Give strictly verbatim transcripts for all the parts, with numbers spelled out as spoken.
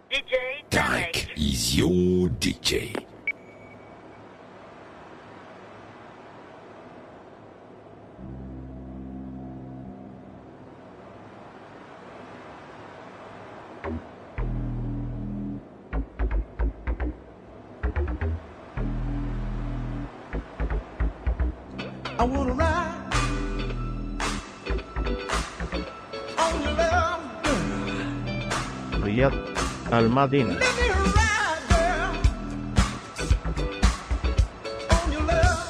D J Tarek is your D J. I wanna ride on your love, Riyad Al-Madina. let me ride, girl, on your love,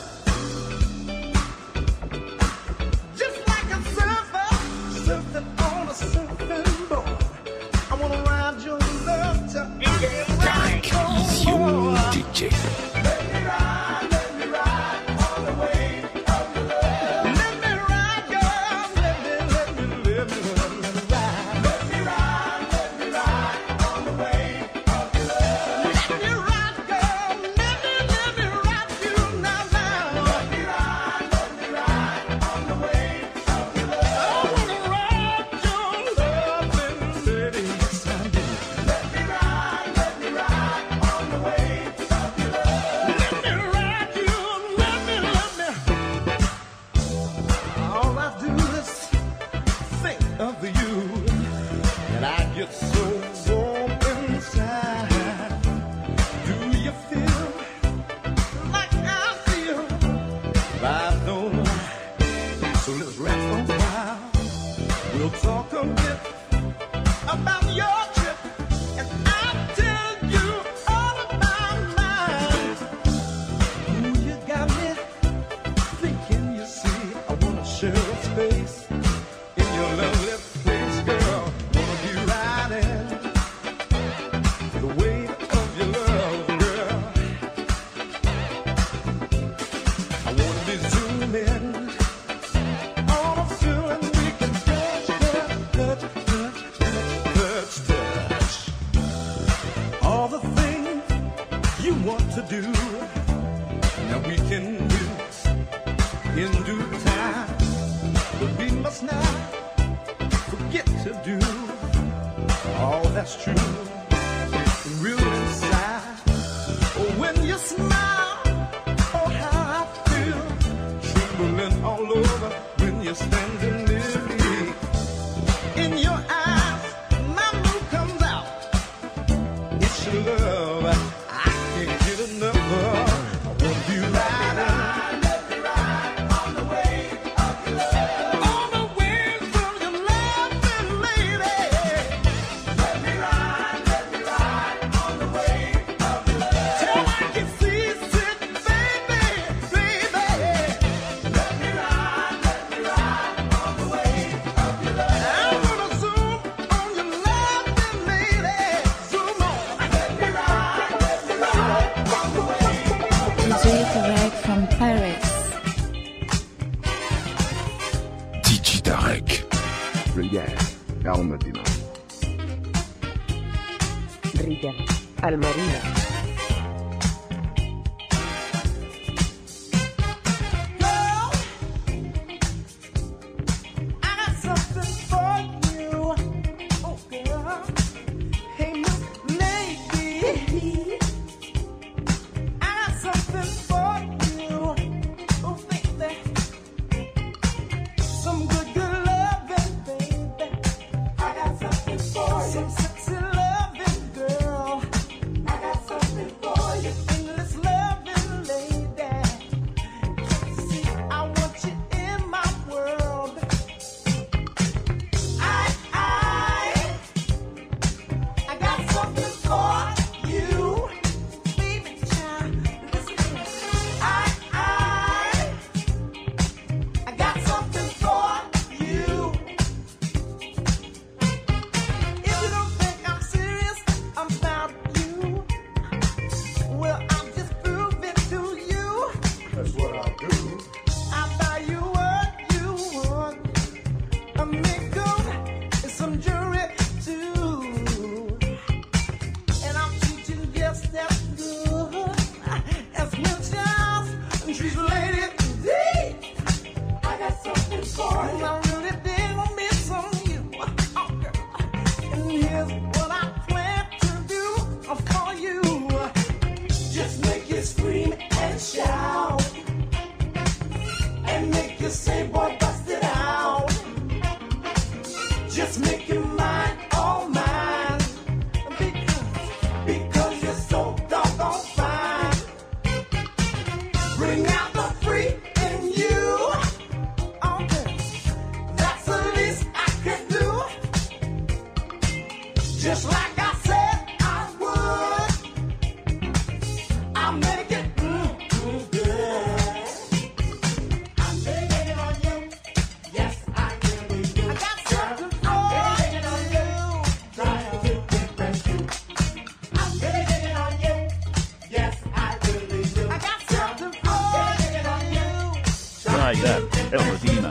just like a surfer surfing on a surfing board. I wanna ride your love till D J Tarek is your D J. let me ride, let me ride on the wave of your love. Let me ride, girl, let me, let me, let me, let me ride. Let me ride, let me ride on the wave of your love. Let me ride, girl, let me, let me ride you now, now. Let me ride, let me ride on the wave of your love. I wanna ride your loving lady, yes I do. Let me ride, let me ride on the wave of your love. Let me ride you, let me, let me. All I do is think of you, and I get so warm inside. Do you feel like I feel? I know. So let's rest a while. We'll talk a bit about your trip, and I'll tell you all about mine. Ooh, you got me thinking, you see, I wanna share a space in your lovely place, girl. Wanna be riding the wave of your love, girl. I wanna be zooming on a feeling we can touch, touch, touch, touch, touch, touch. All the things you want to do, now we can do in due time, but we must not forget to do all that's true and real inside. Oh, when you smile, oh how I feel, trembling all over when you're standing near me. In your eyes, my mood comes out. It's your love, I can't get enough of. I wanna be riding on the waves of your loving lady. Let me ride, let me ride on the wave of your love. Till I can see it, baby, baby. Let me ride, let me ride on the wave of your love. I'm gonna zoom on your loving lady. Zoom on. Let me ride, let me ride on the wave of your D J Tarek from Paris. D J Tarek. Riyad Al-Madina. Riyad Al-Marina. Girl, I got something for you. Oh, girl. Hey, look, lady. I got something for you. Oh, baby. Some good, good loving, baby. I got something for you. Some sexy loving, girl. I got something Just like I said I would. I'll make it mm, mm, good. I'm taking it on you. Yes, I really do. I got something for it on you. Trying to impress you. I'm taking it on you. Yes, I really do. I got something for it on you. Right, there. El Medina.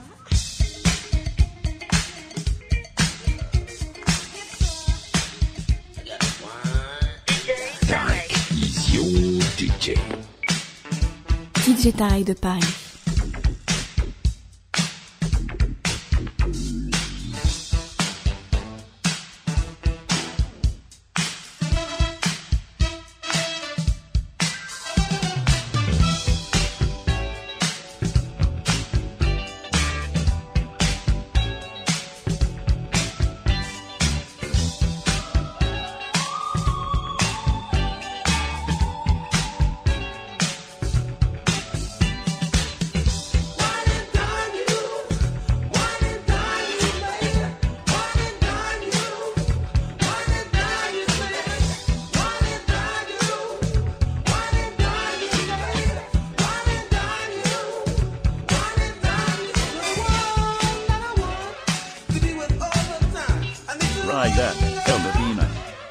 Tarek is your D J. D J Tarek de Paris. Right, there. El Medina.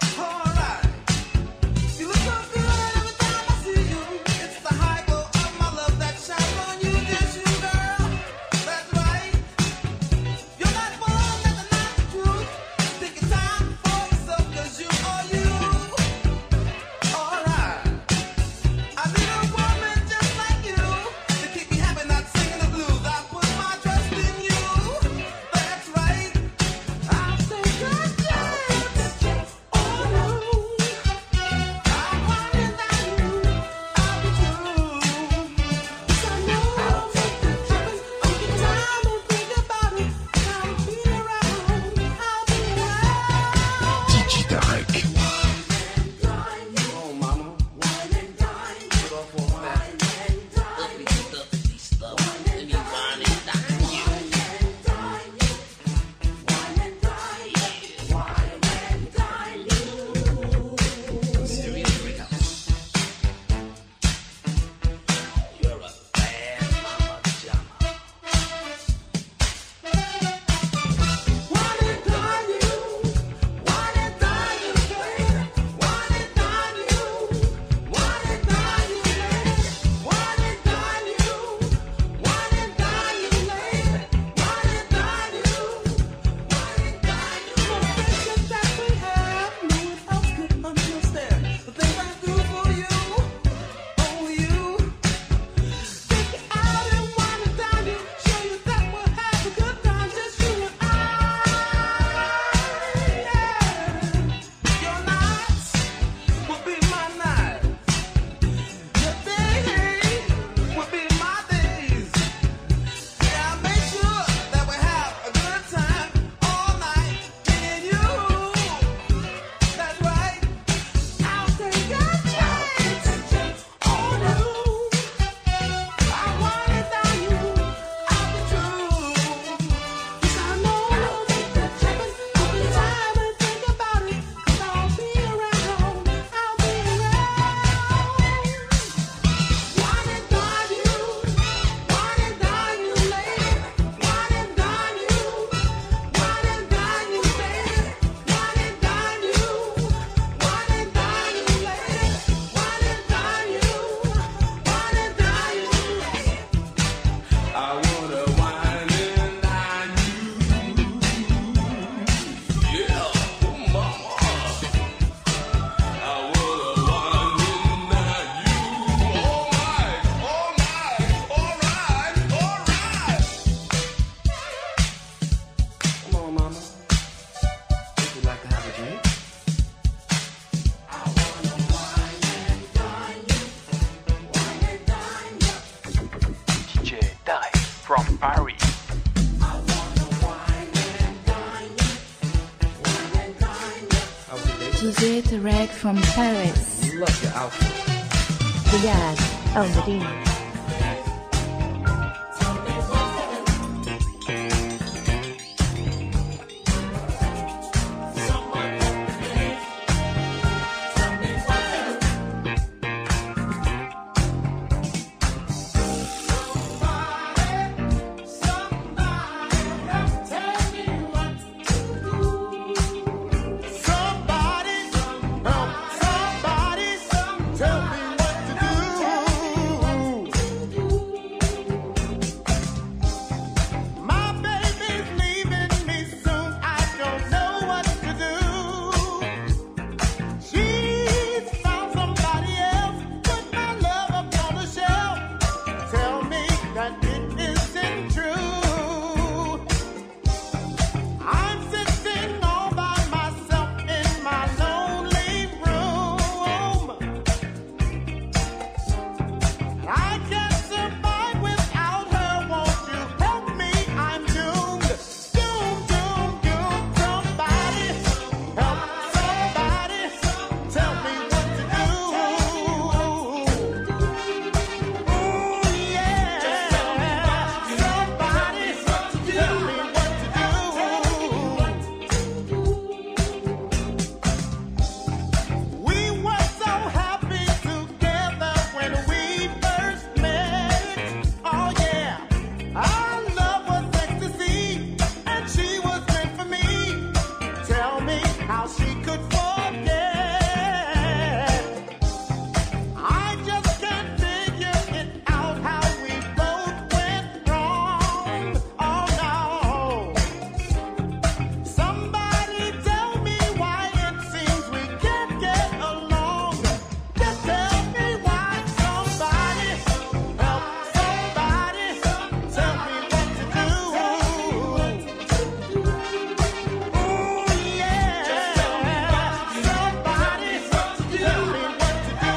from Paris. D J Tarek from Paris. Love your outfit. Riyadh, Al Medina. how she could forget. I just can't figure it out how we both went wrong. Oh no. Somebody tell me why it seems we can't get along. Just tell me why. Somebody help somebody tell me what to do. Ooh yeah. Somebody tell me what to do.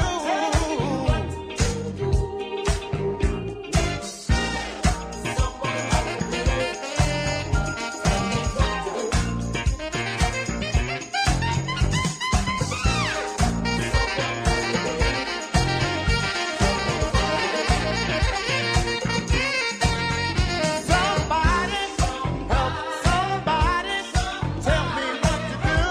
Somebody help somebody tell me what to do.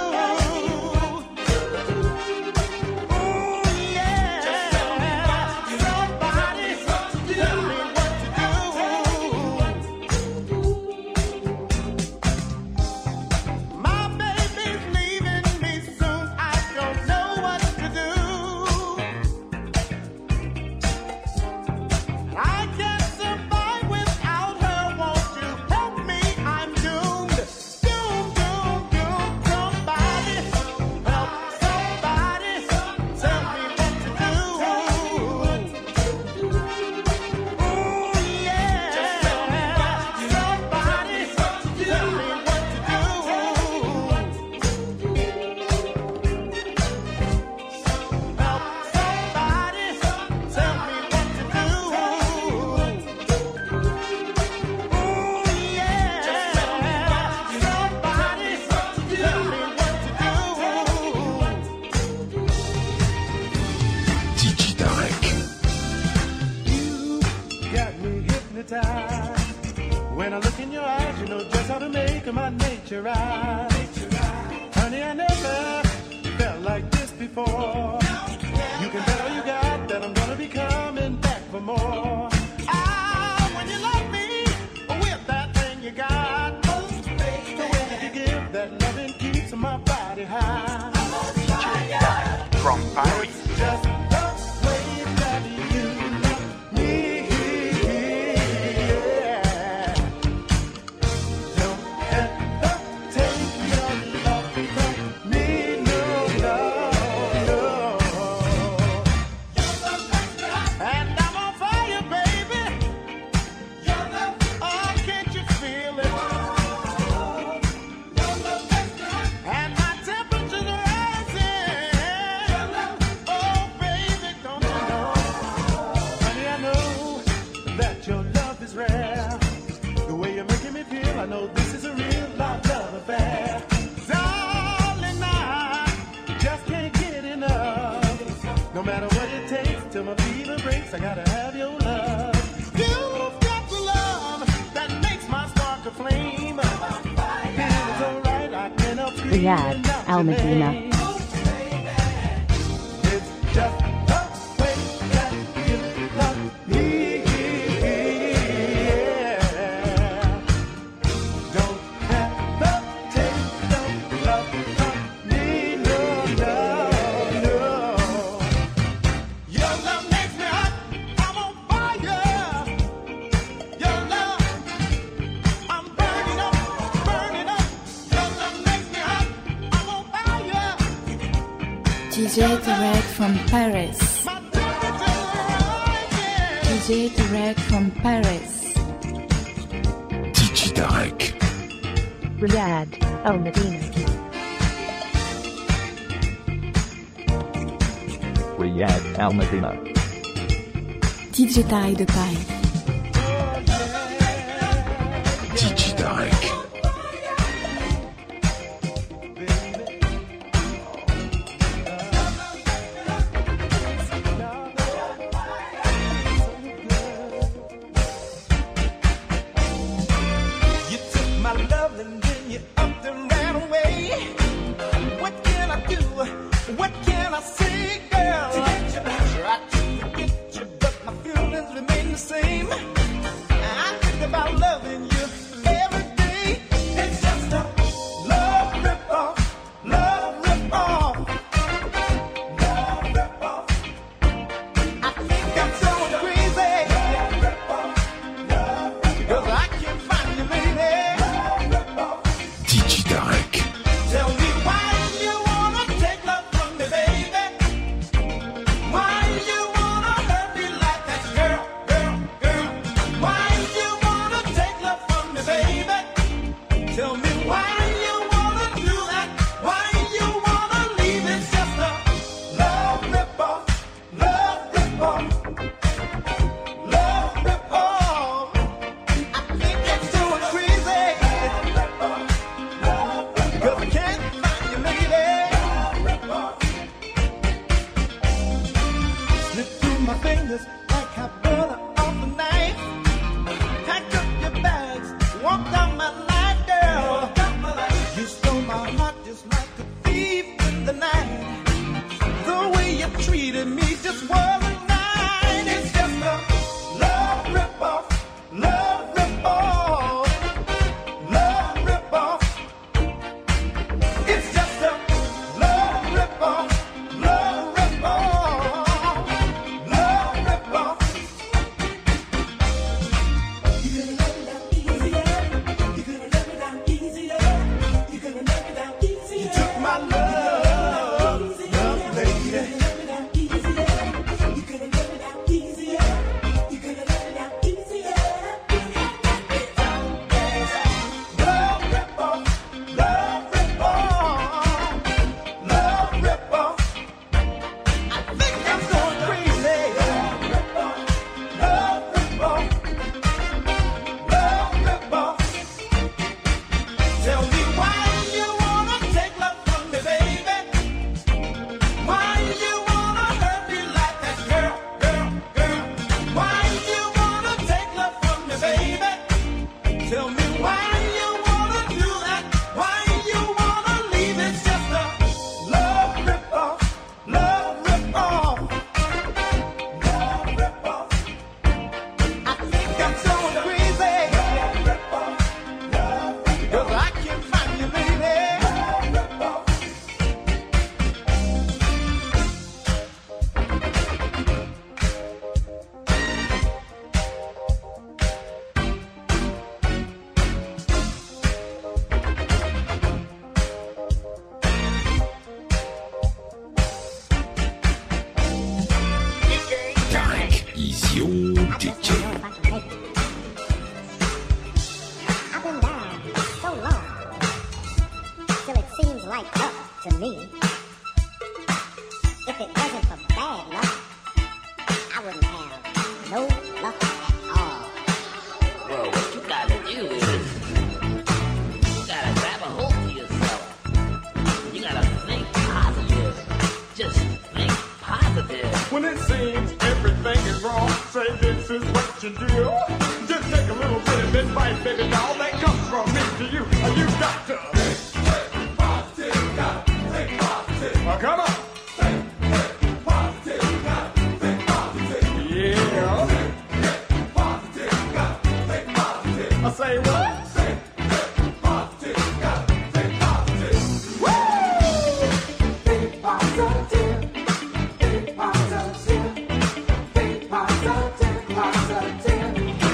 Ooh yeah. Somebody tell me what to do. My baby's leaving me soon. I don't know what to do. I can't survive without her. Won't you help me? I'm doomed. Doomed, doomed, doomed. Somebody help somebody tell me what to do. Ooh yeah. Somebody tell me what to do. Help somebody tell me what to do. Ooh yeah. Somebody tell me what to do. Digitarek. You got me hypnotized. When I look in your eyes, you know just how to make my nature rise. Honey, I never felt like this before. You can bet all you got that I'm gonna be coming back for more. Ah, when you love me with that thing you got, the way that you give that loving keeps my body high. From Paris. Just the way that you love me, yeah. Don't ever take your love from me, no, no, no. And I'm on fire, baby. Oh, can't you feel it? And my temperature's rising. Oh, baby, don't you know? Honey, I know that your love is rare. The way you're making me feel, I know this is a real love, love affair. Darling, I just can't get enough. No matter what it takes till my fever breaks, I gotta have your love. You've got the love that makes my spark a flame. Feels alright, I can help screaming Riyadh out Al your Medina. name. It's just the way that you love me, yeah. Don't ever take no love from me, no, no, no. Your love makes me hot, I'm on fire. Your love, I'm burning up, burning up. Your love makes me hot, I'm on fire. D J Tarek from Paris. My temperature's rising. D J Tarek from Paris. Digitarek. Riyadh Al Medina. Riyadh Al Medina. D J Tarek de Paris. Digitarek. You took my love and then you upped and ran away. What can I do? What can I say, girl? Tried to forget you, but my feelings remain the same. other night. The way you treated me just wasn't right. It's just a love rip-off, love rip-off, love rip-off. It's just a love rip-off, love rip-off, love rip-off. You could have let me down easier. You could have let me down easier. You could have let me down easier. You took my love, love lady. You could have let me down easier. You could have let me down easier. Love rip-off, love rip-off, love rip-off. I think I'm going crazy. Love rip-off, love rip-off, love rip-off. Tell me why you wanna take love from me, baby? Why you wanna hurt me like that, girl, girl, girl? Why you wanna take love from me, baby? Tell me why you wanna do that? Why you wanna leave? It's just a love rip-off, love rip-off, love rip-off. I think I'm going crazy. Love rip-off, love rip-off. 'Cause I can't find you, lady. Love rip-off. Dark is your D J. I've been down so long, till it seems like up to me. If it wasn't for bad luck, I wouldn't have no luck at all. Well, what you gotta do is you gotta grab a hold of yourself. You gotta think positive. Just think positive. When it seems everything is wrong, say this is what you do. Just take a little bit of advice, baby doll, that comes from me to you. You got to think, think positive, got to think positive. Oh, come on. Think, think positive, got to think positive. Yeah. Think, think positive, got to think positive. I say what? Think, think positive, got to think positive. Woo! Think positive. Think positive, think positive, positive.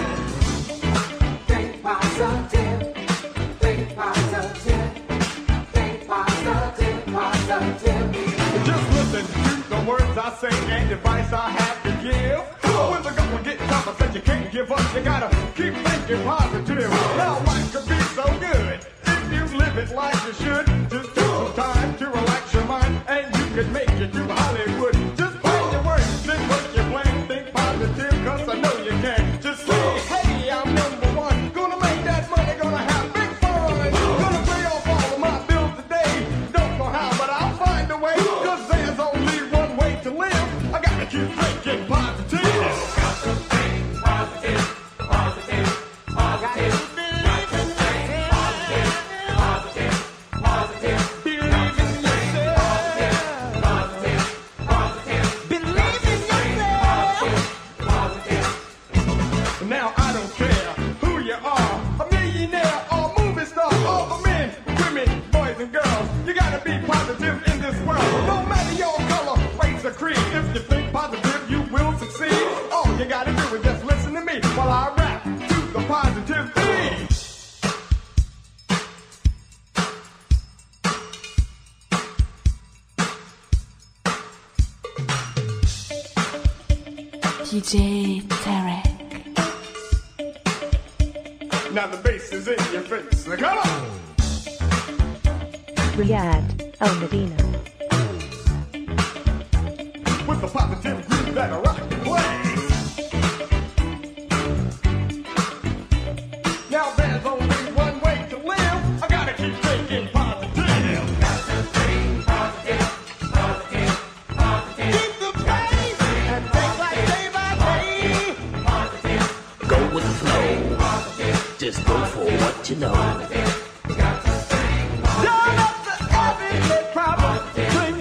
Think positive, think positive, think positive, positive. Just listen to the words I say and advice I have to give. When the going gets tough, I said you can't give up. You gotta keep thinking positive. Now life could be so good if you live it like you should. Just take some time to relax your mind, and you can make it to Hollywood. Just find your words, think what you plan, think positive, 'cause I know you can. Just say, hey, I'm number one. Gonna make that money, gonna have big fun. Gonna pay off all of my bills today. Don't know how, but I'll find a way. 'Cause there's only one way to live. I gotta keep thinking positive. Got to think positive, positive, positive. Got to think positive, positive, positive. Believe in yourself. Positive, positive. Believe in yourself. Positive. Now I don't care who you are, a millionaire or movie star, all the men, women, boys and girls. You gotta be positive in this world. No matter your color, race or creed. If you think positive, you will succeed. All you gotta do is just listen to me while I rap to the positive beat. D J Tarek. Now the bass is in your face. Now come on! Riyadh Al Medina. With the positive groove that I rock and play. Now there's only one way to live. I gotta keep thinking positive. Got to think positive, positive, positive. Keep the pace and think like day by day. Positive. Go with the flow. Just go for what you know. Don't let the everyday problem bring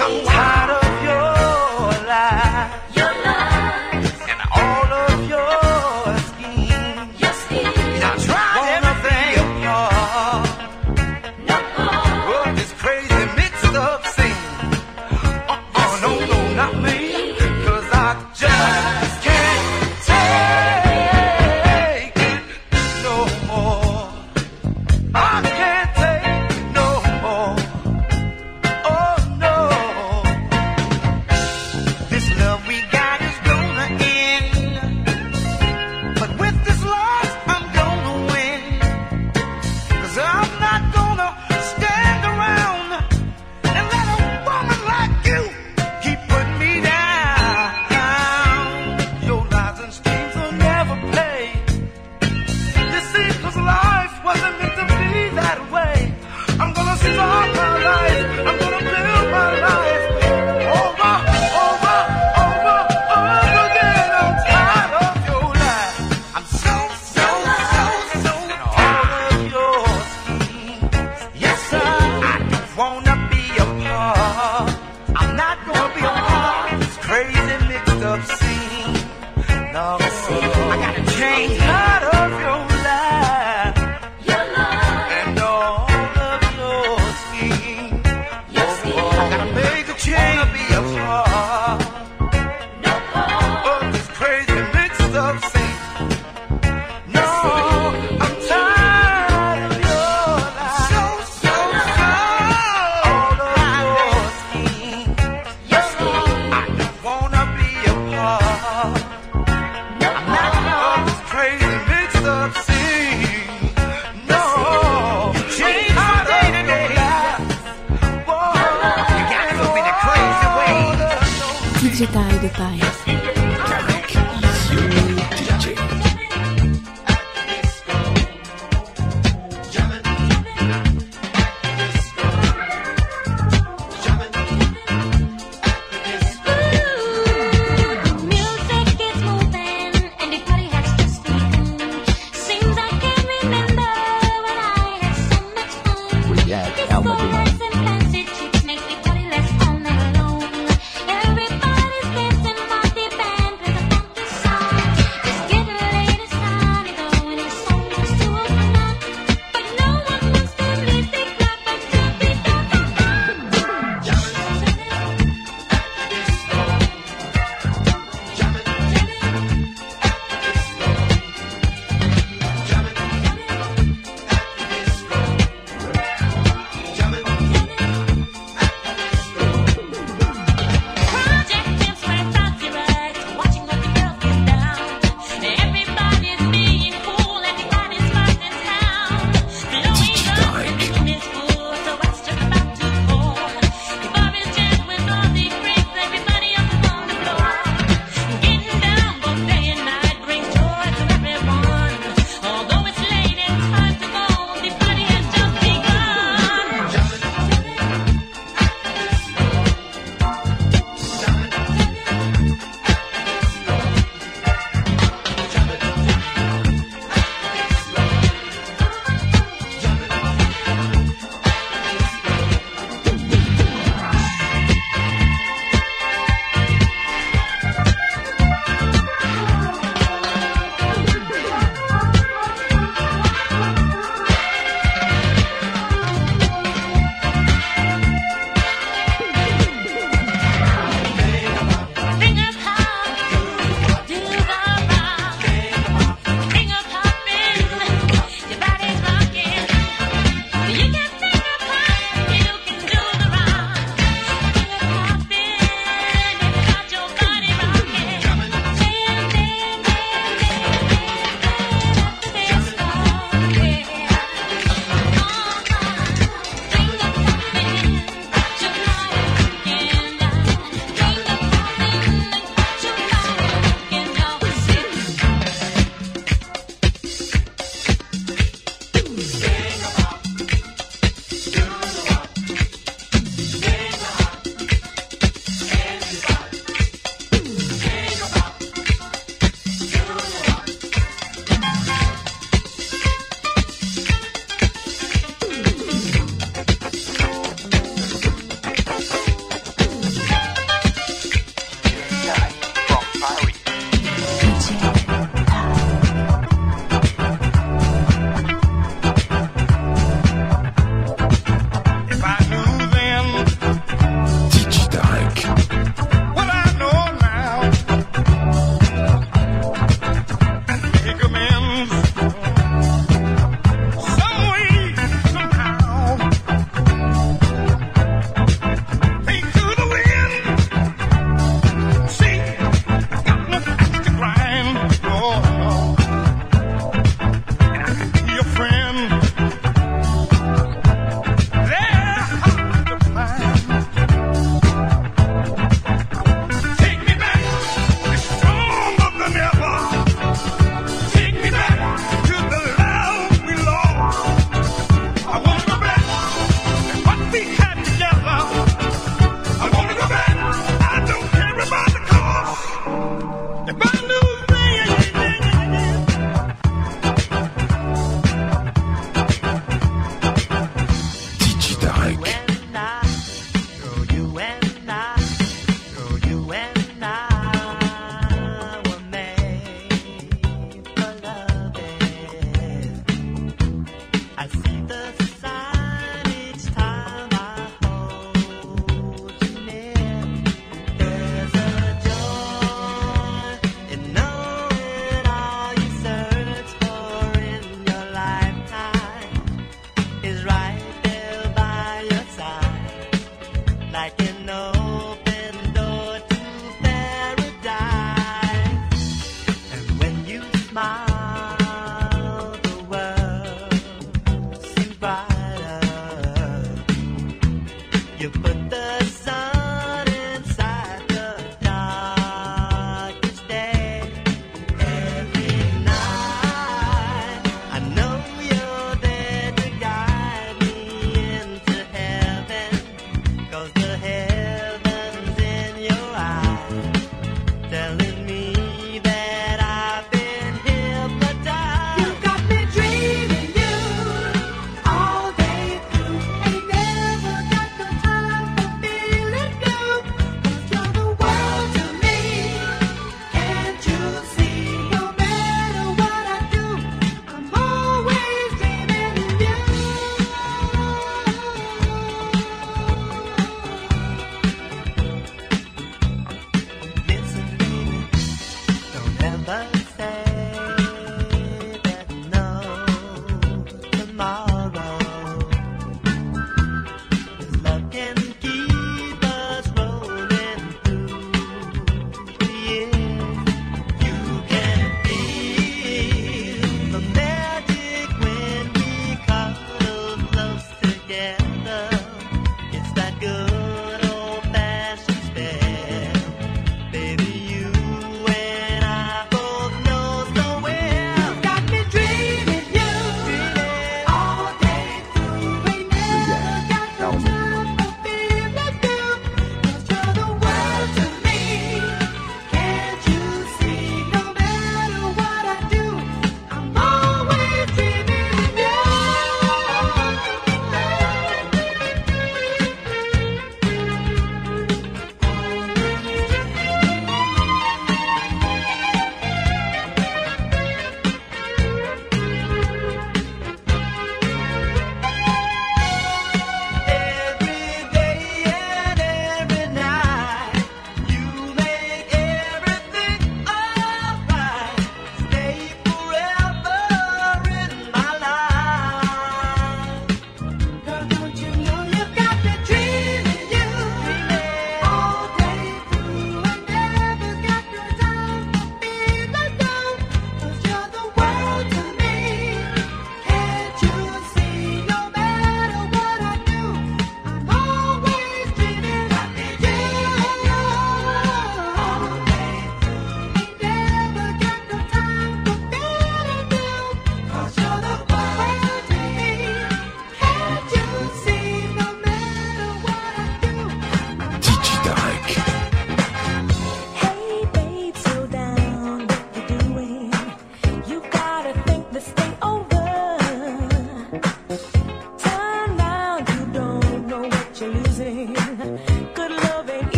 I'm tired of your lies. Your lies. And all of your schemes. Your schemes. I tried everything apart. No more. Oh, this crazy mixed up scene. Uh-uh, no, no, not me. 'Cause I just can't take it no more. I can't take no more. Oh no. This love we got is gonna end. But with this loss, I'm gonna win. 'Cause I'm not gonna stand around and let a woman like you keep putting me down. Your lies and schemes will never pay. You see, 'cause life wasn't meant to be that way. I'm gonna start my life. I'm gonna build my life over, over, over, over again. I'm tired of your lies. I'm so, so, so, so tired of your schemes. Yes, sir. I don't wanna be a part. I'm not gonna be a part of this crazy mixed up scene. No, I gotta change. Tired of your lies. Your lies. And all of your schemes. Your schemes. I gotta make a change to be a part No more. of this crazy mixed up scene. No, I'm tired of your lies. So, so, so. All of your schemes. Your schemes. I don't wanna be a part. No I'm not more. of this crazy mixed up scene. No, change my day to day life. Whoa, you gotta go in a crazy way. D J Tide Paes. Easy D J. Music is moving and the party has just begun. Seems I can't remember when I had so much fun. Riyadh Al Medina. Disco and fancy chicks make the party less all night long. Everybody's dancing while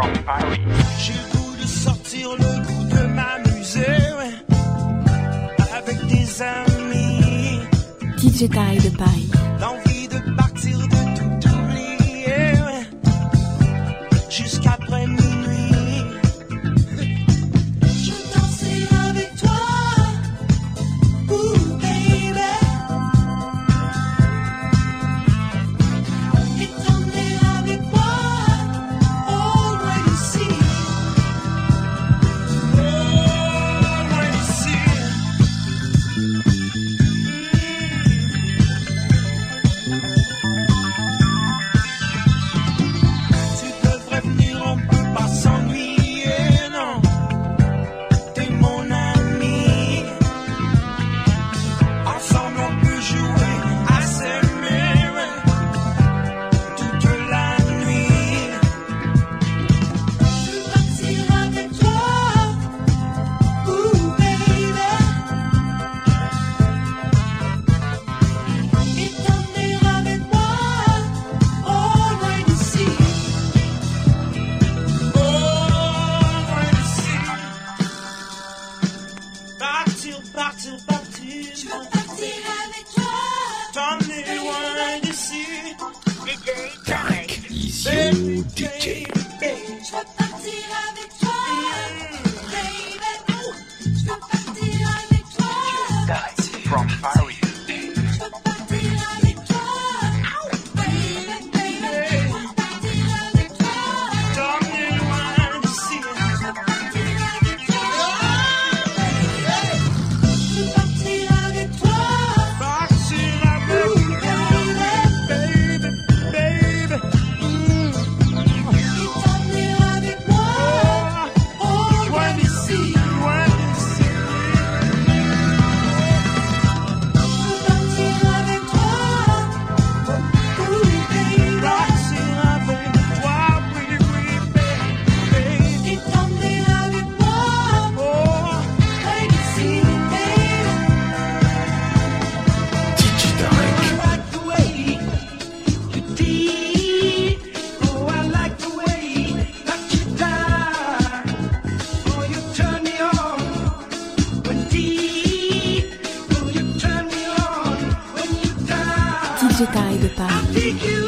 from Paris. J'ai le goût de sortir, le goût de m'amuser, ouais, avec des amis. D J Tarek de Paris. L'envie de partir, de tout oublier, ouais, jusqu'après minuit. Je danserai avec toi, ooh baby. Et t'emmener avec moi, all right ici, all right ici. Tu devrais venir, on peut pas s'ennuyer, non. T'es mon ami. Ensemble on peut jouer à s'aimer, ouais, toute la nuit. Je veux partir avec toi, ooh baby. Et t'emmener avec moi, all right ici, all right ici. Partir, partir, partir. Je veux partir avec toi, t'emmener loin d'ici. Tarek is your D J. Je veux partir avec toi, baby. Je veux partir avec toi, Tarek from Paris. je veux partir avec toi, baby, baby. Je veux partir avec toi, t'emmener loin d'ici. Je veux partir avec toi, je veux partir avec toi, partir avec toi, baby, baby. Et t'emmener avec moi, all right ici, loin d'ici. Je veux partir avec toi, ooh baby. Partir avec toi, oui, oui, baby. Et t'emmener avec moi, oh, right ici, baby. D J Tarek. I like the way you did. Oh, I like the way that you die. Oh, you turn me on when deep. Oh, you turn me on when you die. D J Tarek de Paris. Take you